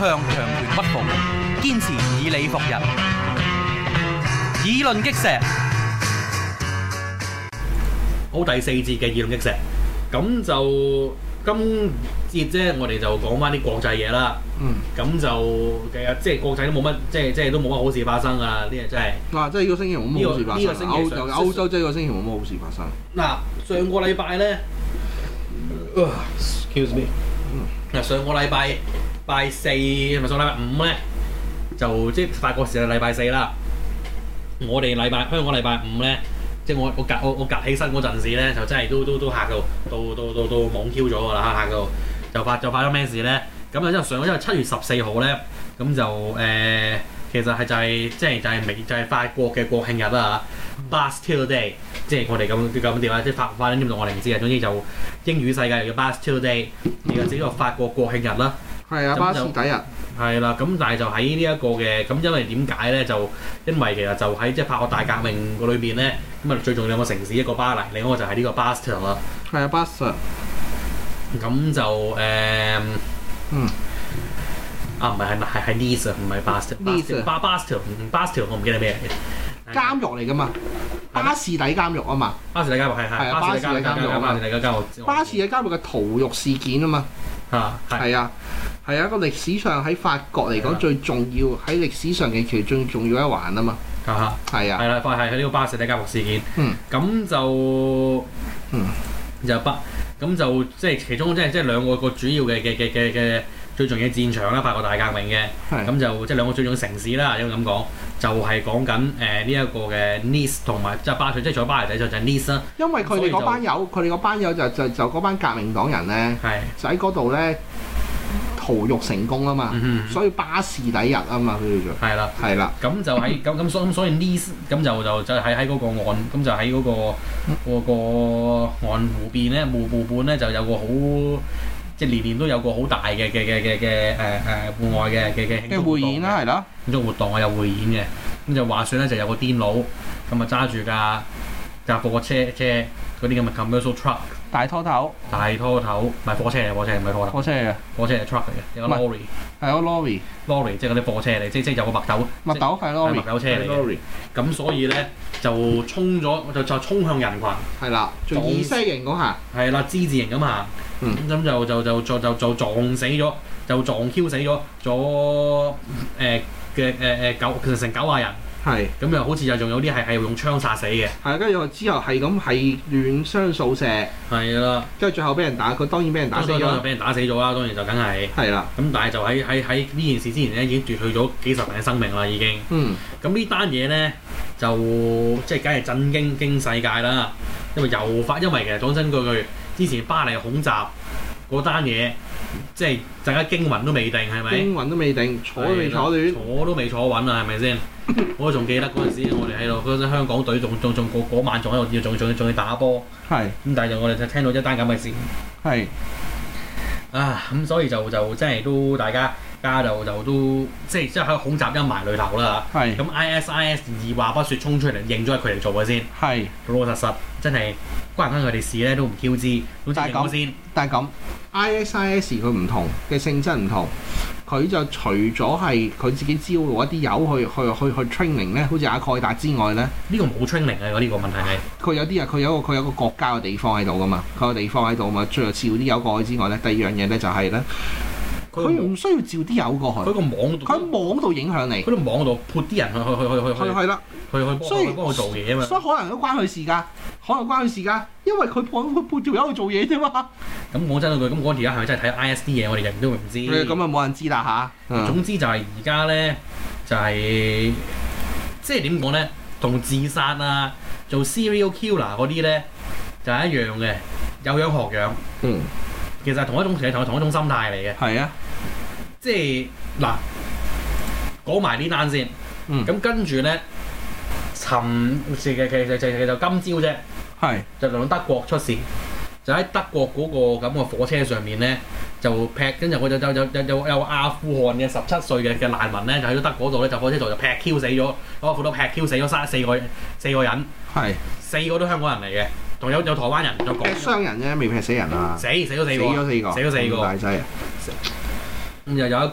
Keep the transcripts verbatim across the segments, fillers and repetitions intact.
向強權屈服，堅持以理服人。議論擊石。 好，第四節嘅議論擊石，咁就今節啫，我哋就講翻啲國際嘢啦。嗯，咁就其實即係國際都冇乜，即係即係都冇乜好事發生㗎啦。呢個真係嗱，即係呢個星期冇乜好事發生。 呢個星期歐歐洲即係呢個星期冇乜好事發生。 嗱，上個禮拜咧 ，excuse me，嗱上個禮拜拜四係咪上個禮拜五咧？就即係法國時間禮拜四啦。我哋禮拜香港禮拜五咧。即係我我隔我我隔起身嗰陣時咧，就真係都都都嚇到到到到到懵 Q 咗㗎啦，嚇到就發就發咗咩事咧？咁啊，因為上因為七月十四號咧，咁就誒、呃、其實係就係、是、即係就係美就係、是、法國嘅國慶日啦嚇 Bastille Day， 即係我哋咁咁點啊？即係法法文點讀我哋唔知啊。總之就英語世界又叫 Bastille Day， 而家只個法國國慶日啦。 係啊，巴士底日。 係啦，咁但係就喺呢一個嘅咁，因為點解咧？就因為其實就喺即係法國大革命個裏邊咧，咁啊最重要兩個城市，一個巴黎，另一個就係呢個 Bastille 啦。 係啊，Bastille。咁就誒，嗯，啊唔係係係係 Nice 唔係 Bastille。巴 Bastille 唔 Bastille 我唔記得咩嚟嘅。監獄嚟㗎嘛？巴士底監獄啊嘛。 巴士底監獄係係。 巴士底監獄。 巴士底監獄。 巴士底監獄嘅屠獄事件啊嘛。 啊， 係啊。係啊，一個歷史上喺法國嚟講最重要，喺歷史上嘅其實最重要一環啊嘛。 啊係啊。係啦，係係呢個巴士底監獄事件。嗯。咁就嗯就巴咁就即係其中即係即係兩個個主要嘅嘅嘅嘅嘅最重要嘅戰場啦，法國大革命嘅。係。咁就即係兩個最重要嘅城市啦，應該咁講，就係講緊誒呢一個嘅 Nice 同埋即係巴塞，即係仲有巴黎底就就係 Nice 啦。 因為佢哋嗰班友，佢哋嗰班友就就就嗰班革命黨人咧，係就喺嗰度咧。屠獄成功啊嘛，嗯、所以巴士底日啊嘛，佢哋做係啦，係啦，咁就喺咁咁所咁所以 Nice 咁就就就喺喺嗰個岸，咁就喺嗰、嗰個嗰、嗰個岸湖邊咧，湖湖畔咧就有個好即係年年都有個好大嘅嘅嘅嘅嘅誒誒戶外嘅嘅嘅慶祝活動嘅匯演啦，係啦，慶祝活動啊有匯演嘅，咁就話説咧就有個癲佬咁啊揸住架架貨車車嗰啲咁嘅 commercial truck。大拖頭，大拖頭，唔係貨車嚟，貨車唔係拖頭。貨車嚟，貨車係 truck 嚟嘅，有個 lorry。係有個 lorry，lorry 即係嗰啲貨車嚟，即即有個麥斗。麥斗係 lorry，麥斗車嚟嘅。咁所以咧就衝咗，就就衝向人群。係啦，做意式型嗰下。係啦，之字形咁行。嗯。咁就就就就就就撞死咗，就撞 Q 死咗咗誒嘅誒誒九其實成九廿人。係，咁又好似又仲有啲係係用槍殺死嘅。係，跟住之後係咁係亂槍掃射。係啦，跟住最後俾人打，佢當然俾人打死咗。當然俾人打死咗啦，當然就梗係。係啦。咁但係就喺喺喺呢件事之前咧，已經奪去咗幾十人嘅生命啦，已經。嗯。咁呢單嘢咧就即係梗係震驚驚世界啦，因為又發，因為其實講真句句，之前巴黎恐襲嗰單嘢。即係大家驚魂都未定，係咪？驚魂都未定，坐都未坐暖，坐都未坐穩啊，係咪先？我仲記得嗰陣時，我哋喺度嗰陣香港隊仲仲仲嗰晚仲喺度要仲仲仲要打波，係咁，但係就我哋就聽到一單咁嘅事，係啊咁，所以就就即係都大家家就就都即係即係喺恐襲陰霾裏頭啦嚇，係咁 I S I S 二話不説衝出嚟認咗係佢哋做嘅先，係老老實實真係關唔關佢哋事咧都唔 Q 知，都知認咗先，但係咁。I S I S 佢唔同嘅性質唔同，佢就除咗係佢自己招攞一啲友去去去去 training 咧，好似阿蓋達之外咧，呢個冇 training 嘅，呢個問題係佢有啲啊，佢有個佢有個國家嘅地方喺度噶嘛，佢有個地方喺度嘛，最後召啲友過去之外咧，第二樣嘢咧就係咧，佢唔需要召啲友過去，佢個網度，佢喺網度影響你，佢喺網度潑啲人去去去去去去係啦，去去幫佢幫佢做嘢啊嘛，所以可能都關佢事㗎。可能關佢事㗎，因為佢幫佢配條友去做嘢啫嘛。咁講真嗰句，咁嗰條友係咪真係睇 I S 啲嘢？我哋人都唔知。咁啊冇人知啦吓，嗯、總之就係而家咧，就係、是、即係點講咧，同自殺啊、做 serial killer 嗰啲咧，就係、是、一樣嘅，有樣學樣。嗯。其實係同一種其實同同一種心態嚟嘅。係啊。即係嗱，講埋呢單先。嗯。咁跟住咧。尋時嘅其實其實就今朝啫，係就輪到德國出事，就喺德國嗰個咁嘅火車上面咧，就劈跟住我就就有有有有阿富汗嘅十七歲嘅嘅難民咧，就喺咗德國度咧，就火車度就劈 Q 死咗，攞斧刀劈 Q 死咗三四個四個人，係四個都香港人嚟嘅，仲有有台灣人，就講傷人啫，未劈死人啊！死死咗四個，死咗四個，死咗四個，大劑啊！咁又有一個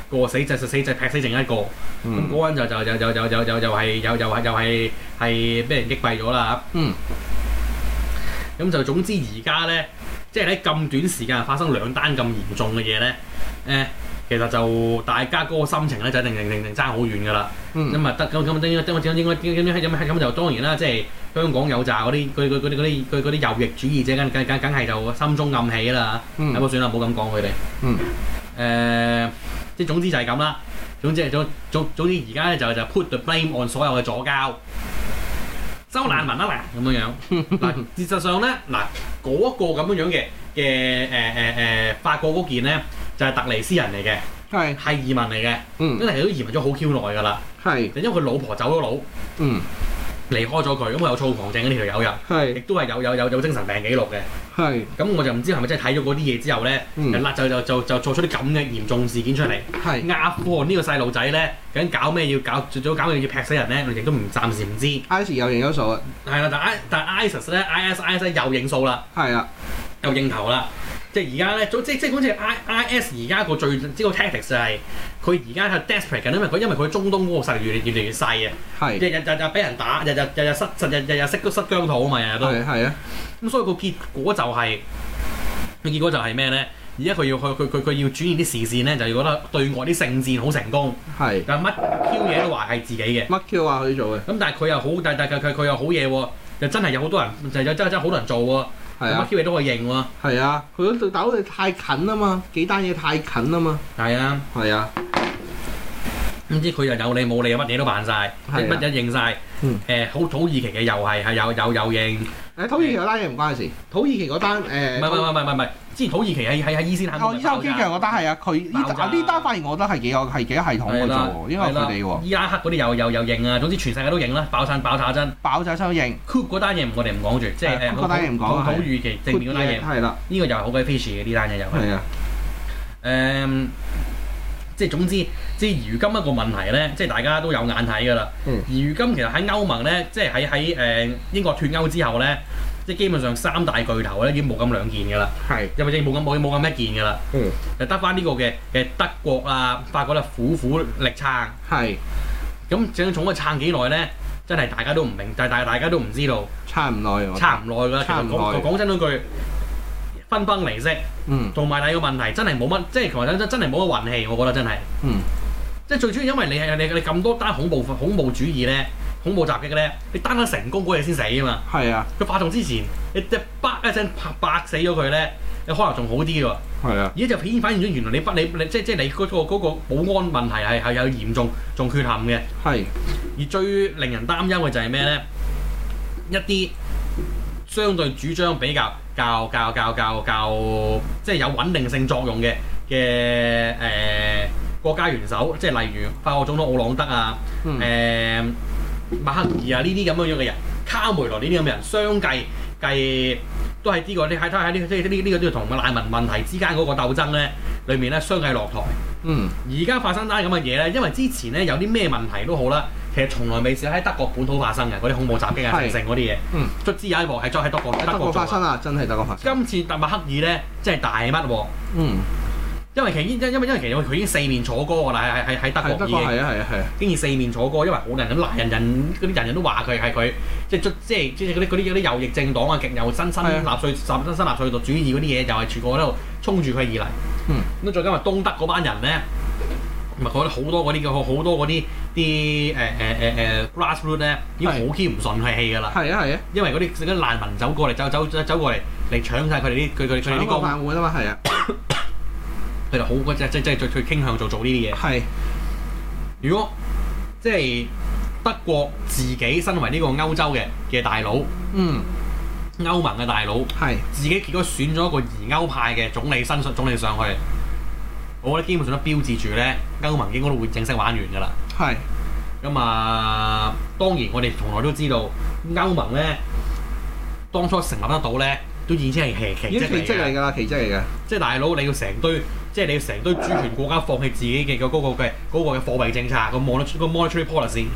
個死就死就劈死剩一個，咁嗰個人就就就就就就就又係又又係又係係俾人擊斃咗啦。嗯。咁就總之而家咧，即係喺咁短時間發生兩單咁嚴重嘅嘢咧，誒，其實就大家嗰個心情咧就一定定定定爭好遠㗎啦。咁啊得咁咁應該應該應該應該應該咁就當然啦，即係香港有扎嗰啲嗰嗰嗰啲嗰啲嗰嗰啲右翼主義者，梗梗梗梗係就心中暗喜啦。嗯。咁算啦，唔好咁講佢哋。嗯。誒，即係總之就係咁啦。總之總總總之而家咧就就 put the blame on 所有嘅左膠。收難民啊嗱，咁樣樣嗱，事實上咧嗱，嗰、那個咁樣樣嘅嘅誒誒誒法國嗰件咧，就係、是、特尼斯人嚟嘅，係係移民嚟嘅，嗯，因為都移民咗好 Q 耐㗎啦，係，因為佢老婆走咗佬，嗯，離開咗佢，咁佢有躁狂症呢條友人，係，亦都係有有有有精神病記錄嘅，係，咁我就唔知係咪真係睇咗嗰啲嘢之後咧，嗯，就就就就做出啲咁嘅嚴重事件出嚟，係，阿富汗呢個細路仔咧。究竟搞咩要搞？最早搞咩要劈死人咧？我亦都唔暫時唔知。I S 又認咗數啊！係啦，但 I 但 ISIS 咧 ，I S I S 又認數啦。係啊，又認頭啦。即係而家咧，即即好似 I I S 而家個最即個 tactics 就係佢而家係 desperate 緊，因為佢因為佢中東嗰個勢力越嚟越嚟越細啊。係。日日日日俾人打，日日日日失日日日日識都失疆土啊嘛，日日都。係係啊。咁所以個結果就係、是，個結果就係咩咧？而家佢要去佢佢佢要轉移啲視線咧，就要覺得對外啲聖戰好成功。係。但係乜 Q 嘢都話係自己嘅。乜 Q 話佢做嘅？咁但係佢又好，但但佢佢佢又好嘢喎，又真係有好多人，就真真真好多人做喎。係啊。乜 Q 嘢都可以認喎。係啊。佢嗰度打到你太近啊嘛，幾單嘢太近啊嘛。係啊。係啊。唔知佢又有理冇理，乜嘢都辦晒，乜嘢認晒。嗯。誒，好土耳其嘅又係係有有有認。誒，土耳其嗰單嘢唔關事。土耳其嗰單誒。唔係唔係唔係唔係唔係。之前土耳其喺喺喺伊斯坦堡。哦，伊斯坦堡嗰單係啊，佢呢呢單反而我覺得係幾有係幾有系統嘅啫，因為佢哋喎。伊拉克嗰啲又又又認啊，總之全世界都認啦，爆曬爆炸針。爆炸針認。Coup 嗰單嘢我哋唔講住，即係誒。Coup 嗰單嘢唔講。土耳其正面嗰單嘢。係啦。呢個又係好鬼 fishy 嘅呢單嘢又係。係啊。誒，即係總之，即係如今一個問題咧，即係大家都有眼睇㗎啦。嗯。而如今其實喺歐盟咧，即係喺喺誒英國脫歐之後咧。即係基本上三大巨頭咧已經冇咁兩件㗎啦，係，又或者冇咁冇冇咁一件㗎啦，嗯，就得翻呢個嘅嘅德國啊、法國咧苦苦力撐，係，咁正重嘅撐幾耐咧？真係大家都唔明，但係大家都唔知道，撐唔耐喎，撐唔耐㗎啦，撐唔耐。講真嗰句，分崩離析，嗯，同埋第二個問題真係冇乜，即係其實真真係冇乜運氣，我覺得真係，嗯，即係最主要因為你係你你咁多單恐怖恐怖主義咧。恐怖襲擊嘅咧，你單單成功嗰日先死啊嘛！係啊，佢發動之前，你一啪一聲拍白死咗佢咧，你可能仲好啲喎。係啊，而家就顯反現咗原來你不你你即即係你嗰個嗰個保安問題係係有嚴重仲缺陷嘅。係。而最令人擔憂嘅就係咩咧？一啲相對主張比較較較較較較即係有穩定性作用嘅嘅誒國家元首，即係例如法國總統奧朗德啊，誒、嗯。呃馬克爾啊，呢啲咁樣樣嘅人，卡梅倫呢啲咁嘅人，相繼計都係呢、這個，你睇睇下呢，即係呢呢個都要同難民問題之間嗰個鬥爭咧，裏面咧相繼落台。嗯，而家發生單咁嘅嘢咧，因為之前咧有啲咩問題都好啦，其實從來未試喺德國本土發生嘅嗰啲恐怖襲擊啊、成成嗰啲嘢。嗯，卒之有一鑊係再喺德國德國發生啊，真係德國發生。今次特馬克爾咧，真係大乜喎？嗯。因為其因因為因為其實佢已經四面楚歌㗎啦，喺喺喺德國已經，係啊係啊係啊，經已四面楚歌，因為好多人咁鬧人人嗰啲人人都話佢係佢，即係即係即係嗰啲嗰啲嗰啲右翼政黨啊，極右新新納粹新新納粹主義嗰啲嘢，就係全部喺度衝住佢而嚟。嗯，咁再加埋東德嗰班人咧，咪覺得好多嗰啲嘅好多嗰啲啲誒誒誒誒 grassroot 咧，已經好 keep 唔順氣㗎啦。係啊係啊，因為嗰啲嗰啲難民走過嚟走走走過嚟嚟搶晒佢哋啲佢佢佢哋啲工。搶個飯碗啊嘛，係啊。佢就好嗰隻，即即係最最傾向做做呢啲嘢。係。如果即係德國自己身為呢個歐洲嘅嘅大佬，嗯，歐盟嘅大佬，係自己結果選咗一個疑歐派嘅總理新總理上去，我覺得基本上都標誌住咧，歐盟應該都會正式玩完㗎啦。係。咁啊，當然我哋從來都知道歐盟咧，當初成立得到咧，都已經係奇奇蹟嚟㗎啦，奇蹟嚟㗎。即係大佬，你要成堆。即係你要成堆主權國家放棄自己嘅嗰個嘅嗰個嘅貨幣政策，個 monetary 個 monetary policy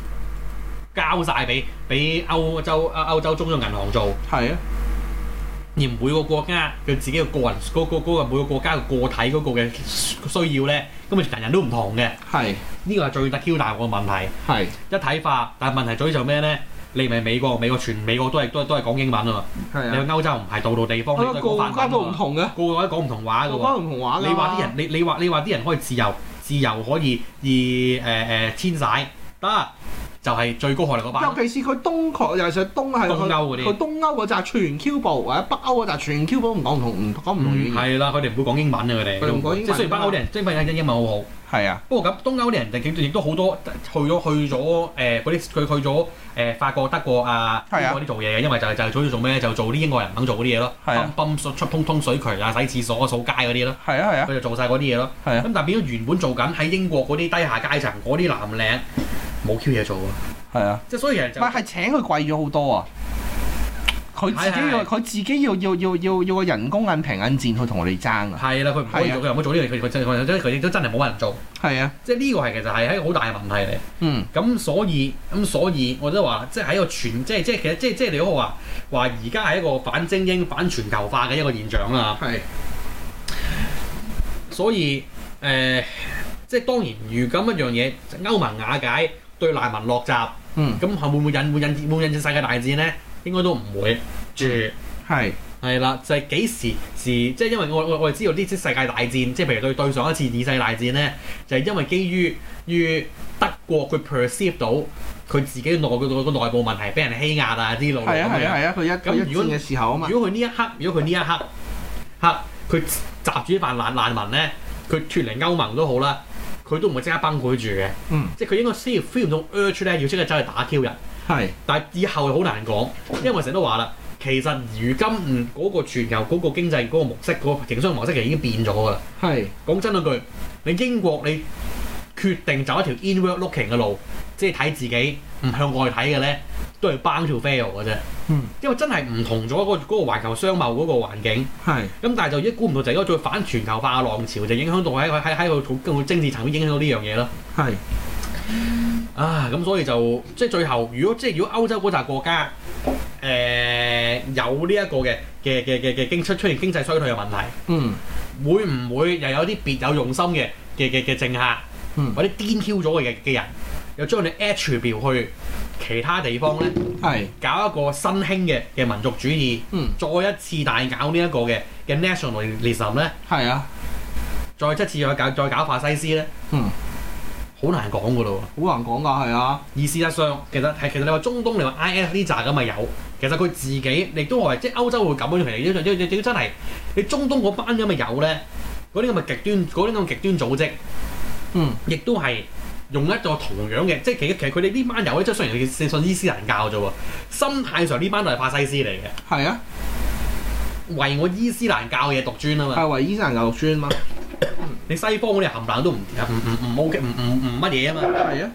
交晒俾俾歐洲歐洲中央銀行做。係啊。 而每個國家佢自己嘅個人嗰、嗰個嗰個每個國家嘅個體嗰個嘅需要咧，咁啊人人都唔同嘅。係呢個係最得 Q 大個問題。係一體化，但係問題在於就咩咧？你咪美國，美國全美國都係都係都係講英文啊嘛。係啊。你去歐洲唔係度度地方，你都係講法文。個個都唔同嘅，個個都講唔同話嘅喎。個個唔同話㗎。你話啲人，你你話你話啲人可以自由自由可以而誒誒遷徙得。就係最高學歷嗰班，尤其是佢東確，尤其是東係東歐嗰啲，佢東歐嗰紮全 Q 部，或者北歐嗰紮全 Q 部唔講唔同，唔講唔同語言。係啦，佢哋唔會講英文嘅佢哋。佢唔講英文。即係雖然北歐啲人，即係北歐英文好好。係啊。不過咁東歐啲人亦都好多去咗去咗誒嗰啲佢去咗誒法國、德國啊嗰啲做嘢嘅，因為就係就係主要做咩？就做啲英國人唔肯做嗰啲嘢咯。係啊。泵泵出通通水渠啊、洗廁所、掃街嗰啲咯。係啊係啊。佢就做晒嗰啲嘢咯。係啊。咁但係變咗原本做緊喺英國嗰啲低下階層嗰啲藍領冇 Q 嘢做啊。係啊，即係所以其實就唔係係請佢貴咗好多啊！佢自己要佢自己要要要要要個人工銀平銀賤去同我哋爭啊！係啦，佢唔可以做，佢又唔可以做呢樣，佢佢真佢真佢亦都真係冇人做。係啊，即係呢個係其實係一個好大嘅問題嚟。嗯，咁所以咁所以我都話，即係喺個全即係即係其實即係即係你嗰個話話而家係一個反精英、反全球化嘅一個現象啦。係，所以誒、呃，即係當然，如咁一樣嘢，歐盟瓦解。對難民落閘，嗯，咁會唔會引會引會唔會引致世界大戰咧？應該都唔會住，係係啦，就係、是、幾時時，即係因為我我我哋知道呢啲世界大戰，即係譬如對對上一次二世大戰咧，就係、是、因為基於於德國佢 perceive 到佢自己內個個內部問題，俾人欺壓啊啲路路咁樣。係啊係啊係啊！佢一咁如果嘅時候啊嘛，如果佢呢一刻，如果佢呢一刻刻佢集住一班難難民咧，佢脫離歐盟都好啦。佢都唔會即刻崩潰住嘅，嗯，即係佢應該先要 feel 到 urge 咧，要即刻走去打 Q 人，係，但係以後好難講，因為成日都話啦，其實如今嗯嗰個全球嗰個經濟嗰個模式，嗰個營商模式其實已經變咗㗎啦，係，講真嗰句，你英國你決定走一條 inward looking 嘅路，即係睇自己唔向外睇嘅咧，都係 bound to fail 嘅啫。嗯，因為真係唔同咗嗰個嗰個環球商貿嗰個環境。係。咁但係就一估唔到就係嗰個再反全球化嘅浪潮，就影響到喺喺喺個個政治層面影響到呢樣嘢咯。係。啊，咁所以就即係最後，如果即係如果歐洲嗰紮國家誒、呃、有呢一個嘅嘅嘅嘅嘅經出出現經濟衰退嘅問題，嗯，會唔會又有啲別有用心嘅嘅嘅嘅政客，嗯，或者癲 Q 咗嘅嘅人，又將你 attribute 去其他地方咧，係搞一個新興嘅嘅民族主義，嗯，再一次大搞呢一個嘅嘅 nationalism 咧，係啊，再一次再搞再搞法西斯咧，嗯，好難講噶咯喎，好難講噶，係啊。而事實上，其實係其實你話中東，你話 I S 呢扎咁咪有，其實佢自己亦都係即係歐洲會咁樣，其實亦亦亦真係你中東嗰班咁咪有咧，嗰啲咁嘅極端嗰啲咁嘅極端組織，嗯，亦都係。用一個同樣嘅，即係其實其實佢哋呢班友咧，即係雖然佢信伊斯蘭教啫喎，心態上呢班都係法西斯嚟嘅。係啊，為我伊斯蘭教嘢獨尊啊嘛。係為伊斯蘭教獨尊啊嘛。你西方嗰啲冚唪唥都唔唔唔唔 OK 唔唔唔乜嘢啊嘛。係啊。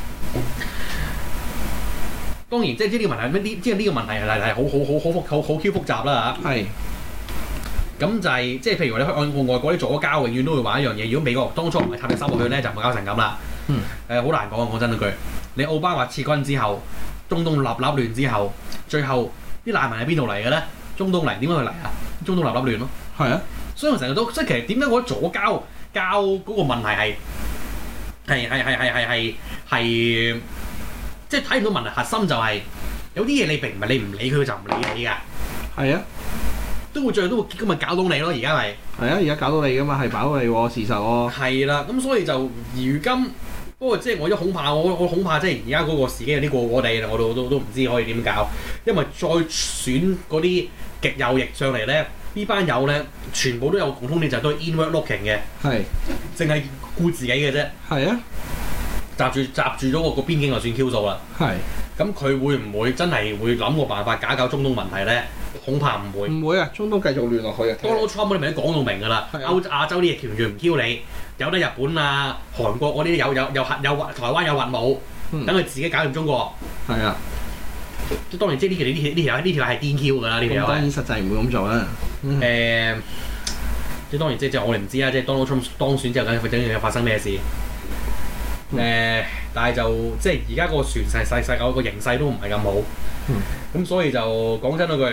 當然，即係呢個問題，呢即係呢個問題係係好好好好複好好 Q 複雜啦嚇。係。咁就係、是、即係譬如你去按外國啲左膠，永遠都會話一樣嘢。如果美國當初唔係插隻手落去咧，就唔會搞成咁啦。嗯，誒好難講啊！講真嗰句，你奧巴馬撤軍之後，中東立立亂之後，最後啲難民喺邊度嚟嘅咧？中東嚟，點解佢嚟啊？中東立立亂咯，係啊！所以我成日都即係其實點解我覺得左膠膠嗰個問題係係係係係係係係即係睇唔到問題核心就係、是、有啲嘢你並唔係你唔理佢就唔理你㗎，係啊，都會最後都會咁咪搞到你咯！而家咪係啊，而家搞到你㗎嘛，係搞到你喎，事實喎。係啦，咁所以就如今。不過即係我一恐怕，我我恐怕即係而家嗰個時機有啲過過地啦，我都都都唔知可以點搞，因為再選嗰啲極右翼上嚟咧，呢班友咧全部都有共通點，就係都係 inward looking 嘅，係，淨係顧自己嘅啫，係啊，閘住閘住咗個個邊境就算 Q 數啦，係，咁佢會唔會真係會諗個辦法搞搞中東問題咧？恐怕唔會，唔會啊！中東繼續亂落去啊 Donald Trump 嗰啲咪都講到明㗎啦，歐亞洲啲嘢完全唔 Q 你。有得日本啊、韓國嗰啲有有有核有核，台灣有核武，等佢、嗯、自己搞掂中國。係啊，即當然即係呢條呢條呢條呢條係 D Q 㗎啦，呢條。當然實際唔會咁做啦。誒、嗯呃，即當然即即我哋唔知啊，即 Donald Trump 當選之後，究竟會發生咩事？誒、嗯呃，但係就即係而家個全世世世界個形勢都唔係咁好。咁、嗯、所以就講真嗰句，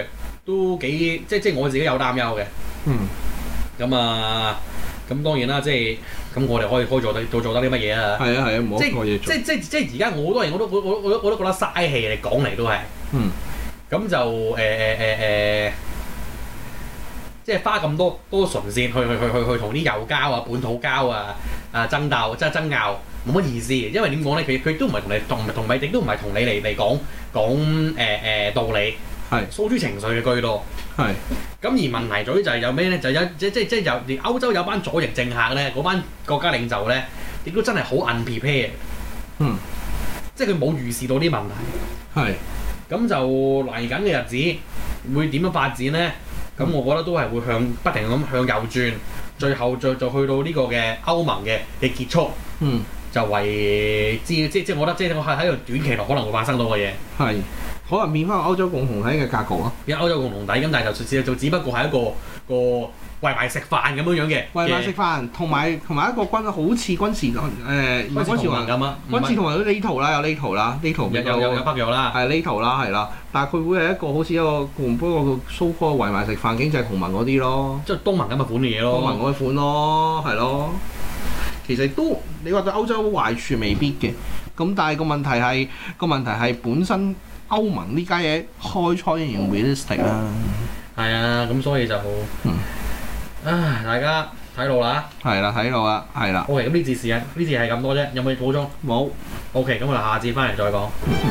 都幾即即我自己有擔憂嘅。 嗯。 咁啊，咁當然啦，即係咁我哋可以可以做得做做得啲乜嘢啊？ 係啊係啊，冇乜嘢做。 即即即即而家我好多人我都我我我都我都覺得嘥氣嚟講嚟都係。 嗯。咁就誒誒誒誒，即係花咁多多唇舌去去去去去同啲右膠啊、本土膠啊啊爭鬥，即係爭拗，冇乜意思嘅。因為點講咧？佢佢都唔係同你同同米迪都唔係同你嚟嚟講講誒誒道理，係訴諸情緒嘅居多。係。咁而問題在於就係有咩咧？就有即即即有連歐洲有班左翼政客咧，嗰班國家領袖咧，亦都真係好 unprepared。嗯。即係佢冇預示到啲問題。係。咁就嚟緊嘅日子會點樣發展咧？咁、嗯、我覺得都係會向不停咁向右轉，最後再就去到呢個嘅歐盟嘅嘅結束。嗯，就為之即即我覺得即係我係喺度短期內可能會發生到嘅嘢。係，可能變翻歐洲共同體嘅格局咯。而歐洲共同體咁，但係就就就只不過係一個個。圍埋食飯咁樣樣嘅，圍埋食飯，同埋同埋一個軍好似軍事誒，唔係軍事同盟咁啊，軍事同盟都呢圖啦，有呢圖啦，呢圖有有有北約啦，係呢圖啦，係啦，但係佢會係一個好似一個不過個蘇科圍埋食飯經濟同盟嗰啲咯，即係東盟咁嘅款嘅嘢咯，東盟嗰款咯，係咯，其實都你話對歐洲壞處未必嘅，咁但係個問題係個問題係本身歐盟呢家嘢開採仍然 realistic 啦，係啊，咁所以就嗯。啊！大家睇路啦，係啦，睇路啦，係啦。OK，咁呢節事啊，呢節係咁多啫，有冇補充？冇。OK，咁我哋下節翻嚟再講。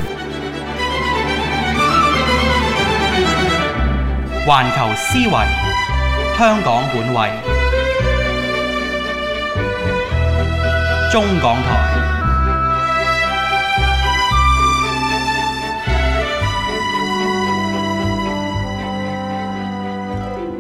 環球思維，香港本位，中港台。